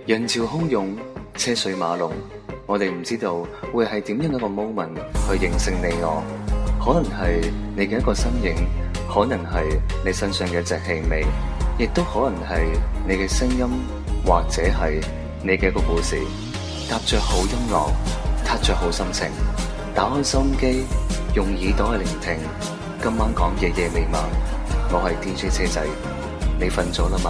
人潮洶湧，車水馬龍，我哋唔知道會係點樣一個 moment 去形成你我，可能係你嘅一個身影，可能係你身上嘅一隻氣味，亦都可能係你嘅聲音，或者係你嘅一個故事。搭着好音樂，踏着好心情，打開收音機，用耳朵去聆聽。今晚講夜夜未晚，我係 DJ 車仔，你瞓咗啦嘛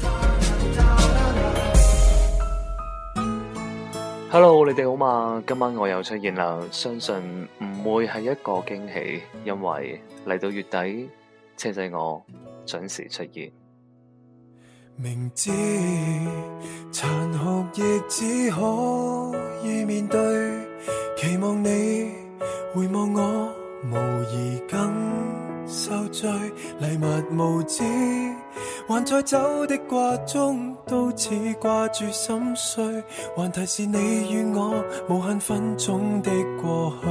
？Hello， 你哋好嘛？今晚我又出現啦，相信唔會係一個驚喜，因為嚟到月底，車仔我準時出現。 明知殘酷亦只可以面對，期望你回望我，無疑更受罪。禮物無知，還在走的掛中，都似掛住心碎，還提示你與我無限分鐘的過去。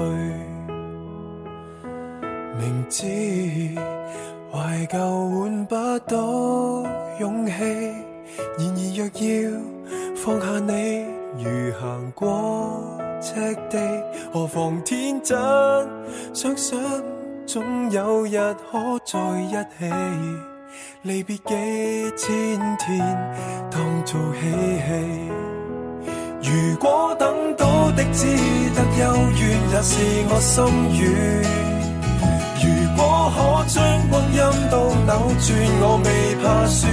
明知懷舊換不到勇氣，然而若要放下你，如行過赤地，何妨天真想想，總有日可在一起。離別幾千天當做嬉戲，如果等到的只得幽怨，也是我心願。如果可將光陰都扭轉，我未怕輸。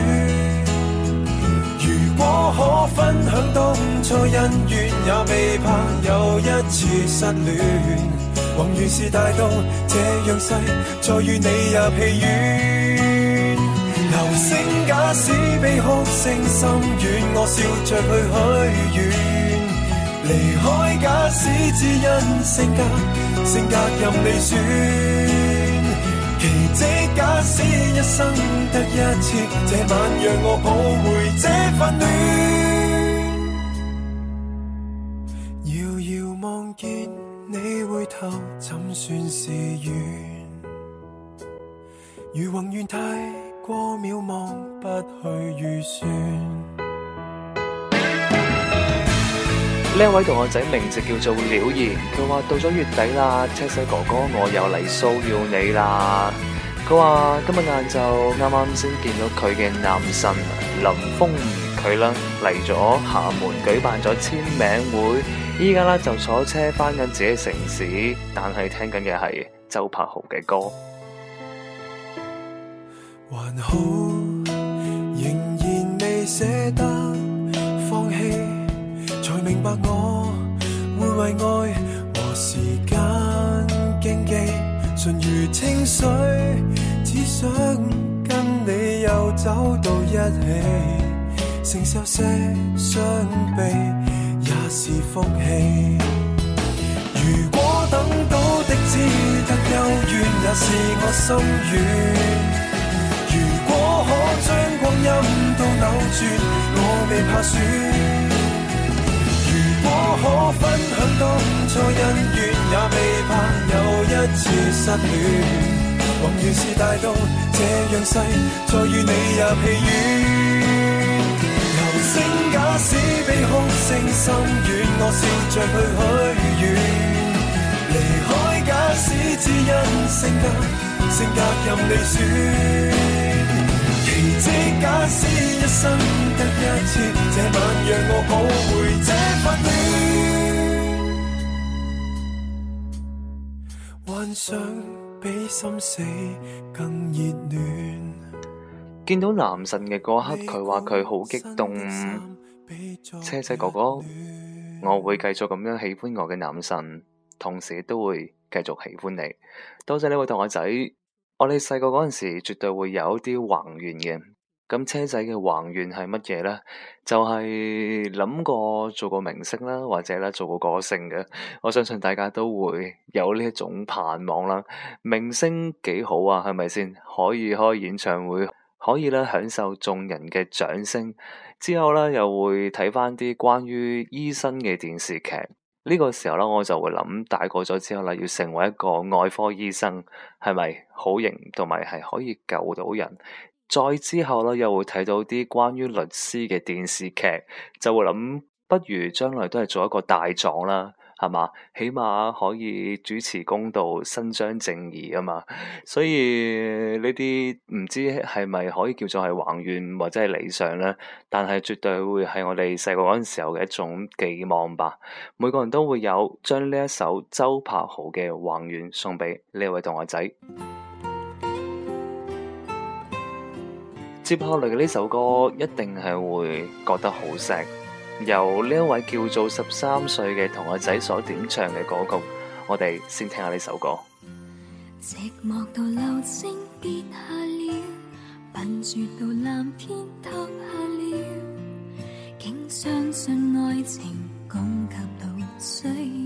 如果可分享當初恩怨，也未怕又一次失戀。宏願是大到這樣細，再與你也疲軟。流星假使比哭聲深遠，我笑着去許願。離開假使只因性格任你選。奇蹟假使一生得一次，這晚讓我抱回這份戀。遙遙望見你回頭，怎算是緣？如宏願太過渺茫，不去預算。 呢一位同學仔名字叫做了然，佢話到咗月底啦，車仔哥哥我又嚟騷擾你啦。佢話今日晏晝啱啱先見到佢嘅男神林峰，佢啦嚟咗廈門舉辦咗簽名會，依家啦就坐車翻緊自己城市，但係聽緊嘅係周柏豪嘅歌。 還好仍然未捨得放棄，才明白我會為愛和時間競技，純如清水，只想跟你又走到一起，承受些傷悲也是福氣。如果等到的只得幽怨，也是我心願。如果可將光陰都扭轉，我未怕輸。如果可分享當初恩怨，也未怕又一次失戀。宏願是大到這樣細，再與你也疲軟。流星假使比哭聲深遠，我笑着去許願。離開假使只因性格任你選。奇蹟假使一生得一次，這晚讓我抱回這份戀。幻想比心死更熱戀。 見到男神嘅嗰刻，佢話佢好激動。車仔哥哥，我會繼續咁樣喜歡我嘅男神，同時都會繼續喜歡你。多謝呢位同學仔。我哋細個嗰陣時絕對會有一啲宏願嘅，咁車仔嘅宏願係乜嘢呢？就係諗過做個明星啦，或者咧做個歌星嘅。我相信大家都會有呢一種盼望啦。明星幾好啊，係咪先？可以開演唱會，可以咧享受眾人嘅掌聲，之後咧又會睇翻啲關於醫生嘅電視劇。呢個時候咧，我就會諗大個咗之後啦，要成為一個外科醫生，係咪好型，同埋係可以救到人？ 再之後咧，又會睇到啲關於律師嘅電視劇，就會諗，不如將來都係做一個大狀啦，係嘛？起碼可以主持公道、伸張正義啊嘛。所以呢啲唔知係咪可以叫做係宏願或者係理想咧？但係絕對會係我哋細個嗰陣時候嘅一種寄望吧。每個人都會有將呢一首周柏豪嘅《宏願》送俾呢位同學仔。接下嚟嘅呢首歌一定係會覺得好錫，由呢一位叫做13歲嘅同學仔所點唱嘅歌曲，我哋先聽下呢首歌。 寂寞到流星跌下了，笨拙到藍天塌下了，竟相信愛情供給到需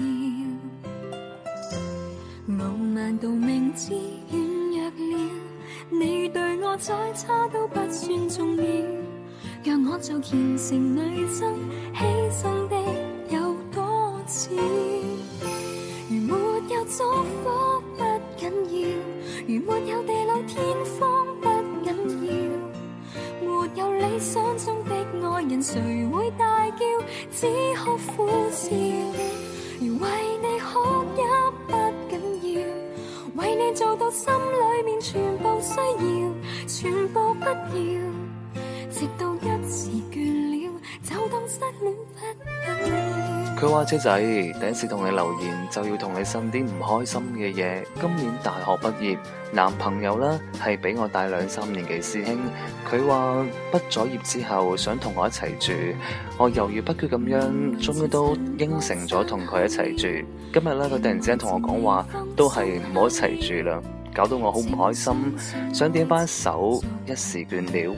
要，傲慢到明知軟弱了，你對我再差都不算重要，讓我做虔誠女生，犧牲的有多少？如沒有祝福不緊要，如沒有地老天荒不緊要，沒有理想中的愛人誰會大叫，只可苦笑。如為你哭也不緊要，為你做到心裏面全部需要，全部不要，直到一時倦了，就當失戀不緊要。 佢話車仔，第一次同你留言就要同你呻啲唔開心嘅嘢。今年大學畢業，男朋友啦係比我大2-3年嘅師兄。佢話畢咗業之後想同我一齊住，我猶豫不決咁樣，終於都應承咗同佢一齊住。今日咧佢突然之間同我講話，都係唔好一齊住啦，搞到我好唔開心，想點翻首一時倦了。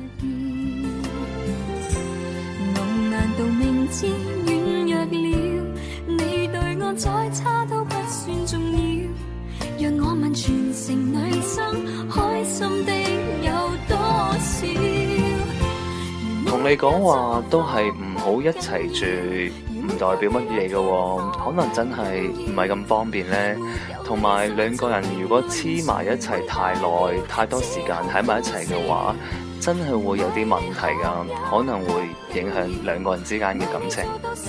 再差都不算重要，讓我問全城女生，開心的有多少？ 同你講話都係唔好一齊住，唔代表乜嘢嘅，可能真係唔係咁方便呢。同埋兩個人如果黐埋一齊太耐，太多時間喺埋一齊嘅話，真係會有啲問題㗎，可能會影響兩個人之間嘅感情。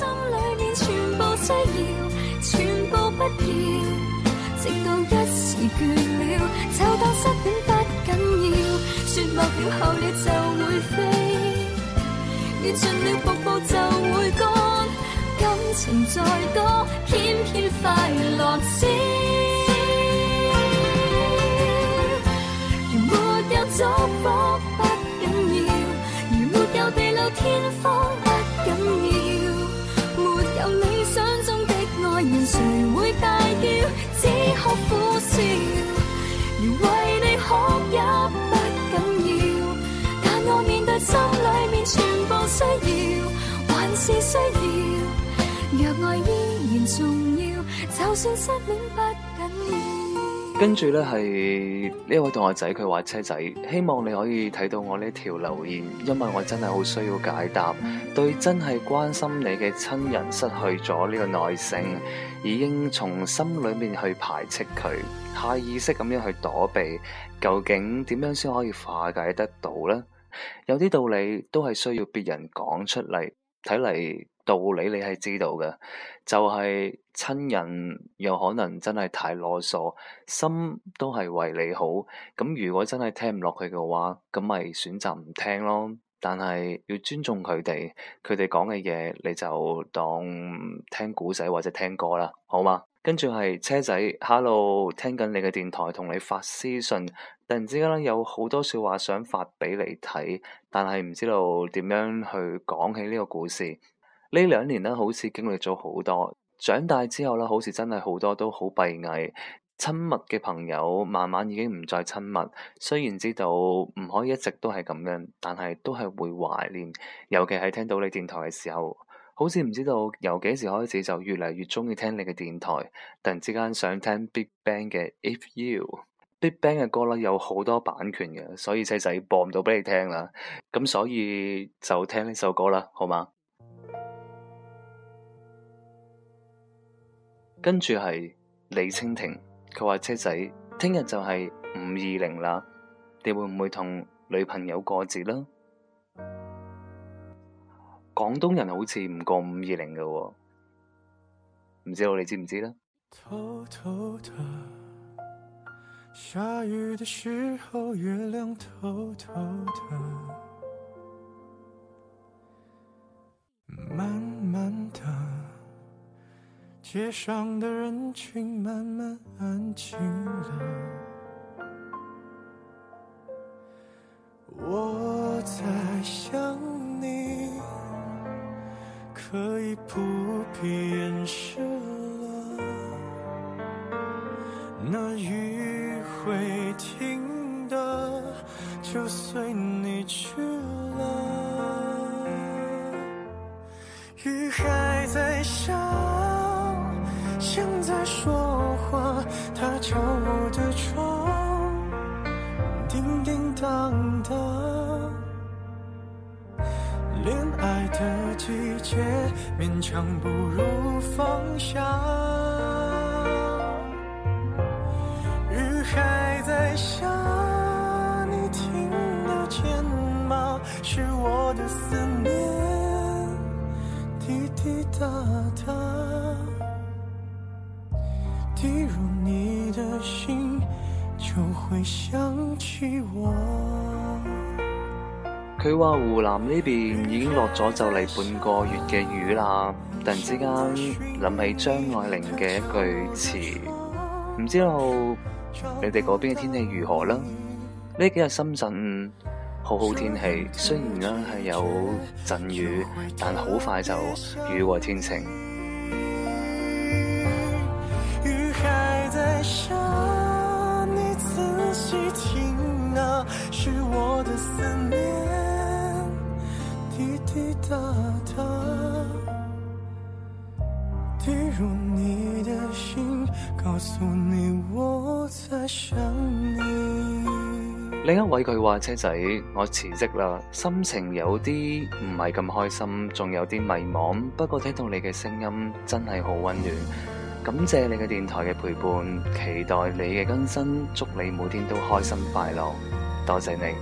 全部不要，直到一時倦了，就當失戀不緊要。雪落了後了就會飛，雨盡了瀑布就會乾，感情再多，偏偏快樂少。如沒有祝福不緊要，如沒有地老天荒不緊要，沒有理想中的愛人誰會大叫，只可苦笑。如為你哭也不緊要，但我面對心裏面全部需要，還是需要。若愛依然重要，就算失戀不緊要。 跟住呢係呢位同學仔，佢話車仔，希望你可以睇到我呢條留言，因為我真係好需要解答。對真係關心你嘅親人失去咗呢個耐性，已經從心裏面去排斥佢，下意識咁樣去躲避，究竟點樣先可以化解得到呢？有啲道理都係需要別人講出嚟，睇嚟道理你係知道嘅，就係親人有可能真係太囉嗦，心都係為你好。咁如果真係聽唔落去嘅話，咁咪選擇唔聽咯。但係要尊重佢哋講嘅嘢，你就當聽古仔或者聽歌啦，好嗎？跟住係車仔 ，Hello， 聽緊你嘅電台，同你發私信，突然之間咧有好多說話想發俾你睇，但係唔知道點樣去講起呢個故事。呢2年咧，好似經歷咗好多，長大之後咧，好似真係好多都好閉翳。親密嘅朋友慢慢已經唔再親密，雖然知道唔可以一直都係咁樣，但係都係會懷念。尤其係聽到你電台嘅時候，好似唔知道由幾時開始就越嚟越鍾意聽你嘅電台。突然之間想聽 Big Bang 嘅 If You。Big Bang 嘅歌咧有好多版權嘅，所以細仔播唔到俾你聽啦。咁所以就聽呢首歌啦，好嗎？跟住係李蜻蜓。佢話車仔，聽日就係520啦，你會唔會同女朋友過節啦。廣東人好似唔過520嘅喎，唔知道你知唔知呢？ 偷偷的下雨的時候，月亮偷偷的慢慢的，街上的人群慢慢安靜了。我在想你，可以不必掩飾了，那雨會停的，就隨你去了。雨還在下，像在說話，它敲我的窗，叮叮當的，戀愛的季節勉強不如放下。雨還在下，你聽得見嗎？是我的思念滴滴答答，滴入你的心，就會想起我。 佢話湖南呢邊已經落咗就嚟半個月嘅雨啦，突然之間諗起張愛玲嘅一句詞，唔知道你哋嗰邊嘅天氣如何啦？呢幾日深圳好好天氣，雖然呢係有陣雨，但好快就雨過天晴。 雨還在下，你仔細聽啊，是我的思念滴滴答答，滴入你的心，告訴你我在想你。 另一位佢話：車仔，我辭職啦，心情有啲唔係咁開心，仲有啲迷茫。不過聽到你嘅聲音真係好溫暖，感謝你嘅電台嘅陪伴，期待你嘅更新，祝你每天都開心快樂，多謝你。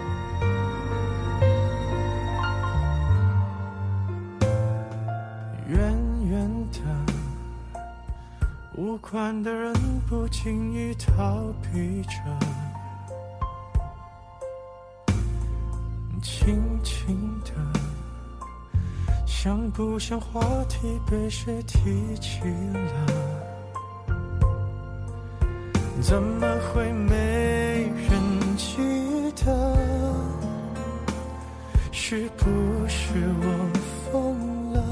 遠遠的，無關的人不經意逃避着，輕輕的，像不像話題被誰提起了，怎麼會沒人記得，是不是我瘋了，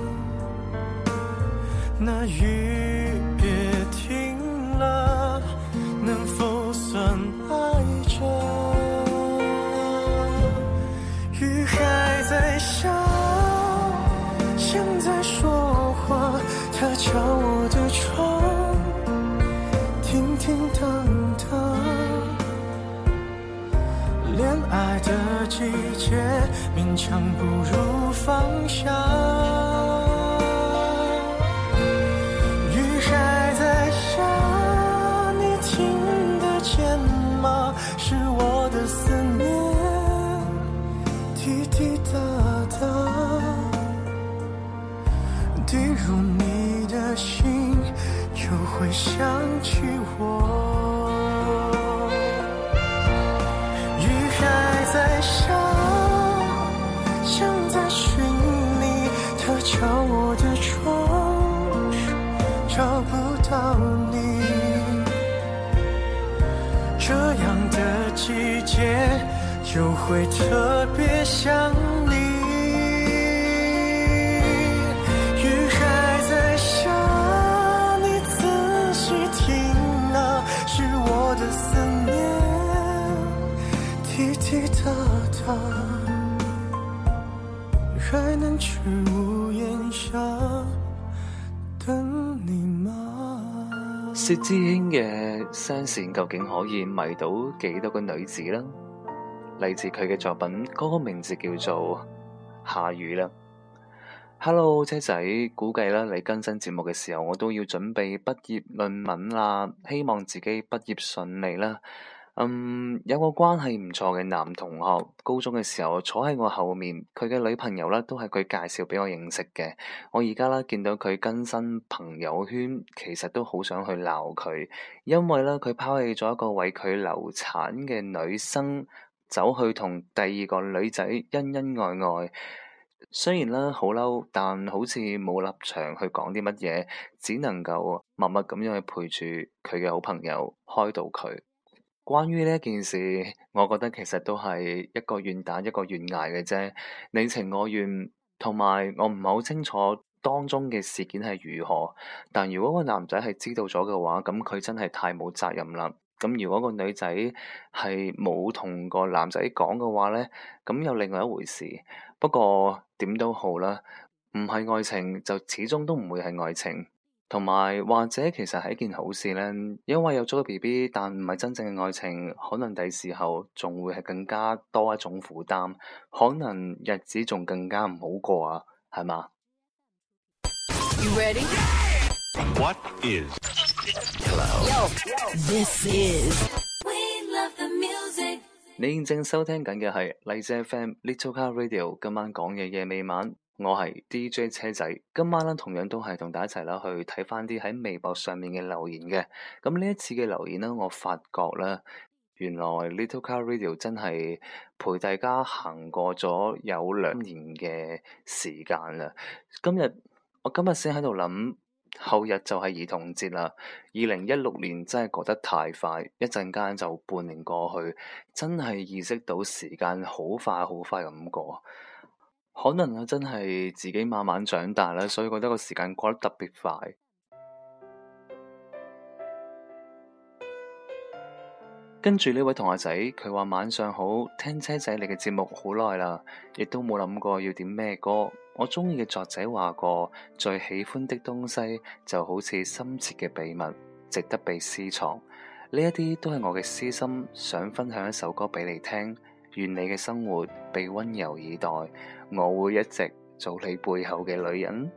那雨別停了，能否算愛着，雨還在下，像在說話，它敲我的窗，叮叮當當，戀愛的季節勉強不如放下。雨還在下，你聽得見嗎？是我的思念滴滴答答，滴入你的心，就會想起我。雨還在下，像在尋你，它敲我的窗，找不到你。這樣的季節就會特別想你。雨還在下，你仔細聽啊，是我的思念滴滴答答，還能去屋檐下等你嗎？ 薛之謙嘅聲線究竟可以迷到幾多個女子呢？嚟自佢嘅作品，歌名字叫做《下雨啦》。Hello， 車仔，估計啦，你更新節目嘅時候，我都要準備畢業論文啦，希望自己畢業順利啦。 有個關係唔錯嘅男同學，高中嘅時候坐喺我後面，佢嘅女朋友咧都係佢介紹俾我認識嘅。我而家咧見到佢更新朋友圈，其實都好想去鬧佢，因為咧佢拋棄咗一個為佢流產嘅女生，走去同第二個女仔恩恩愛愛。雖然咧好嬲，但好似冇立場去講啲乜嘢，只能夠默默咁樣去陪住佢嘅好朋友開導佢。關於呢件事，我覺得其實都係一個願打一個願挨嘅啫，你情我願。同埋我唔係好清楚當中嘅事件係如何，但如果個男仔係知道咗嘅話，咁佢真係太冇責任啦。咁如果個女仔係冇同個男仔講嘅話咧，咁又另外一回事。不過點都好啦，唔係愛情就始終都唔會係愛情，同埋或者其實係一件好事咧，因為有咗個 BB，但唔係真正嘅愛情，可能第時候仲會係更加多一種負擔，可能日子仲更加唔好過啊，係嘛 ？You ready? What is? Yo, this is. We love the music。 你現正收聽緊嘅係荔枝 FM Little Car Radio， 今晚講嘅夜未晚，我係 DJ 車仔。今晚咧同樣都係同大家一齊啦去睇翻啲喺微博上面嘅留言嘅。咁呢一次嘅留言呢，我發覺咧，原來 Little Car Radio 真係陪大家行過咗有2年嘅時間啦。我今日先喺度諗，後日就係兒童節啦。2016年真係過得太快，一陣間就半年過去，真係意識到時間好快好快咁過。可能我真係自己慢慢長大啦，所以覺得個時間過得特別快。跟住呢位同學仔，佢話晚上好，聽車仔你嘅節目好耐啦，亦都冇諗過要點咩歌。我中意嘅作者話過，最喜歡的東西就好似深切嘅秘密，值得被私藏。呢一啲都係我嘅私心，想分享一首歌俾你聽。願你嘅生活被溫柔以待，我會一直做你背後嘅女人。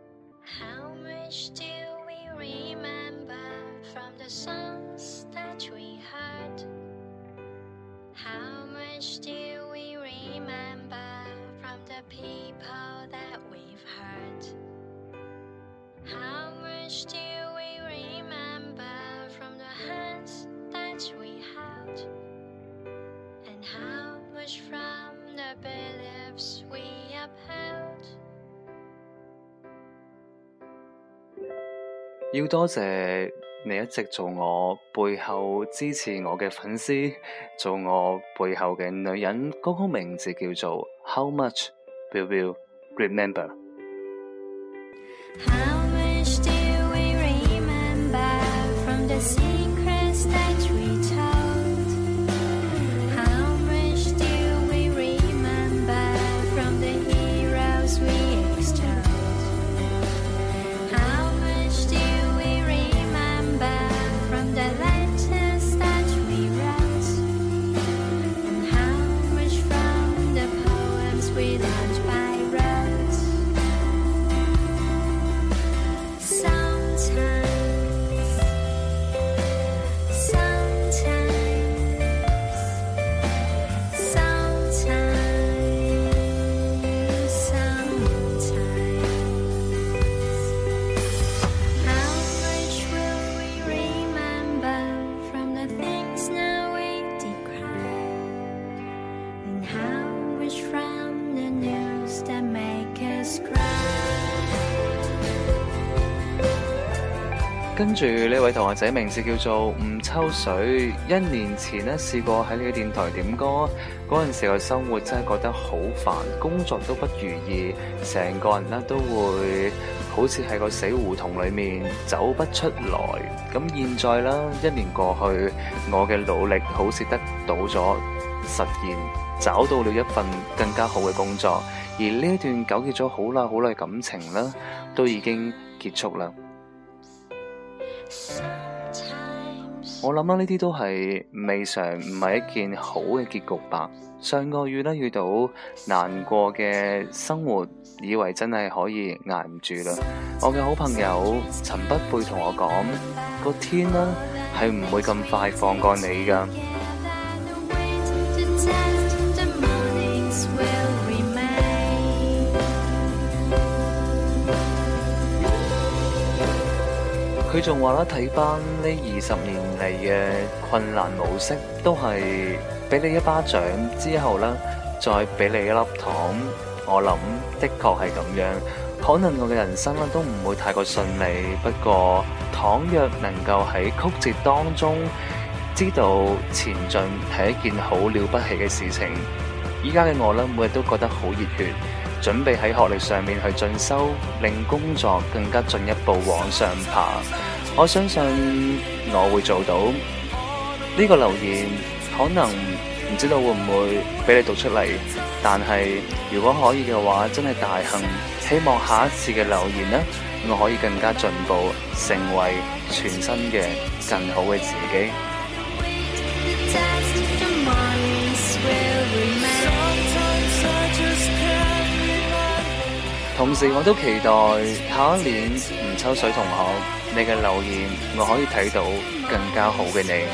要多謝你一直做我背後支持我嘅粉絲，做我背後嘅女人。歌曲名字叫做 How Much Will You Remember。 How much do we remember from the secrets that we told? How much do we remember from the heroes we extolled? How much do we remember from the letters that we wrote? And how much from the poems we learned by rote? Sometimes How much will we remember from the things now we decry? And how much from the news that make us cry? 跟住呢位同學仔名字叫做吳秋水，1年前呢試過喺呢個電台點歌，嗰陣時嘅生活真係覺得好煩，工作都不如意，成個人呢都會好似喺個死胡同裏面走不出來。咁現在啦，1年過去，我嘅努力好似得到咗實現，找到了一份更加好嘅工作，而呢一段糾結咗好耐好耐感情啦，都已經結束啦。我諗啦，呢啲都係未嘗唔係一件好嘅結局吧。上個月咧遇到難過嘅生活，以為真係可以捱唔住啦。我嘅好朋友陳不悔同我講，個天啦係唔會咁快放過你㗎。 test, the mornings will remain. 佢仲話啦，睇翻呢20年嚟嘅困難模式，都係俾你一巴掌之後啦，再俾你一粒糖。我諗的確係咁樣，可能我嘅人生都唔會太過順利，不過倘若能夠喺曲折當中知道前進係一件好了不起嘅事情。依家嘅我每日都覺得好熱血，準備喺學歷上面去進修，令工作更加進一步往上爬。我相信我會做到。呢個留言可能唔知道會唔會俾你讀出嚟，但係如果可以嘅話，真係大幸。希望下一次嘅留言我可以更加進步，成為全新嘅更好嘅自己。同時我都期待下一年吳秋水同學，你嘅留言我可以睇到更加好嘅你。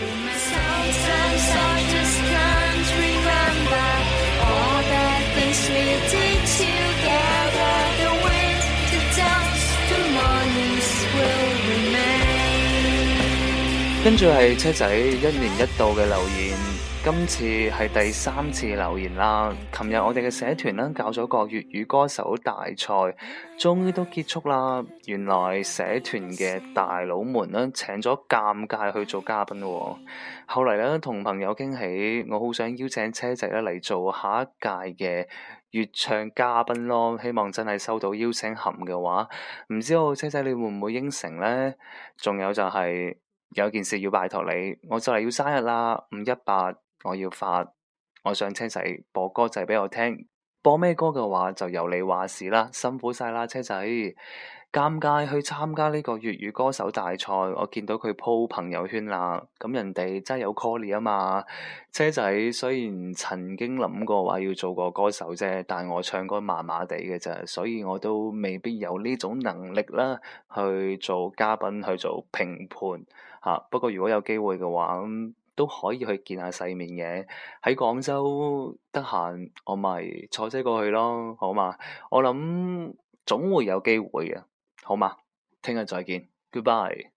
跟住係車仔1年1度嘅留言，今次係第3次留言啦。琴日我哋嘅社團搞咗個粵語歌手大賽，終於都結束啦。原來社團嘅大佬們請咗尷尬去做嘉賓喎。後嚟同朋友傾起，我好想邀請車仔嚟做下一屆嘅粵唱嘉賓咯。希望真係收到邀請函嘅話，唔知道車仔你會唔會應承呢？仲有就係有件事要拜託你，我就嚟要生日啦，518我要發，我想車仔播歌仔俾我聽，播咩歌嘅話就由你話事啦，辛苦晒啦車仔。尷尬去參加呢個粵語歌手大賽，我見到佢 po 朋友圈啦，咁人哋真係有 call 你啊嘛。車仔雖然曾經諗過話要做個歌手啫，但我唱歌麻麻地嘅啫，所以我都未必有呢種能力啦，去做嘉賓去做評判嚇。不過如果有機會嘅話，都可以去見下世面嘅。喺廣州得閒，我咪坐車過去咯，好嘛？我諗總會有機會嘅。好嘛，聽日再見 ，Goodbye。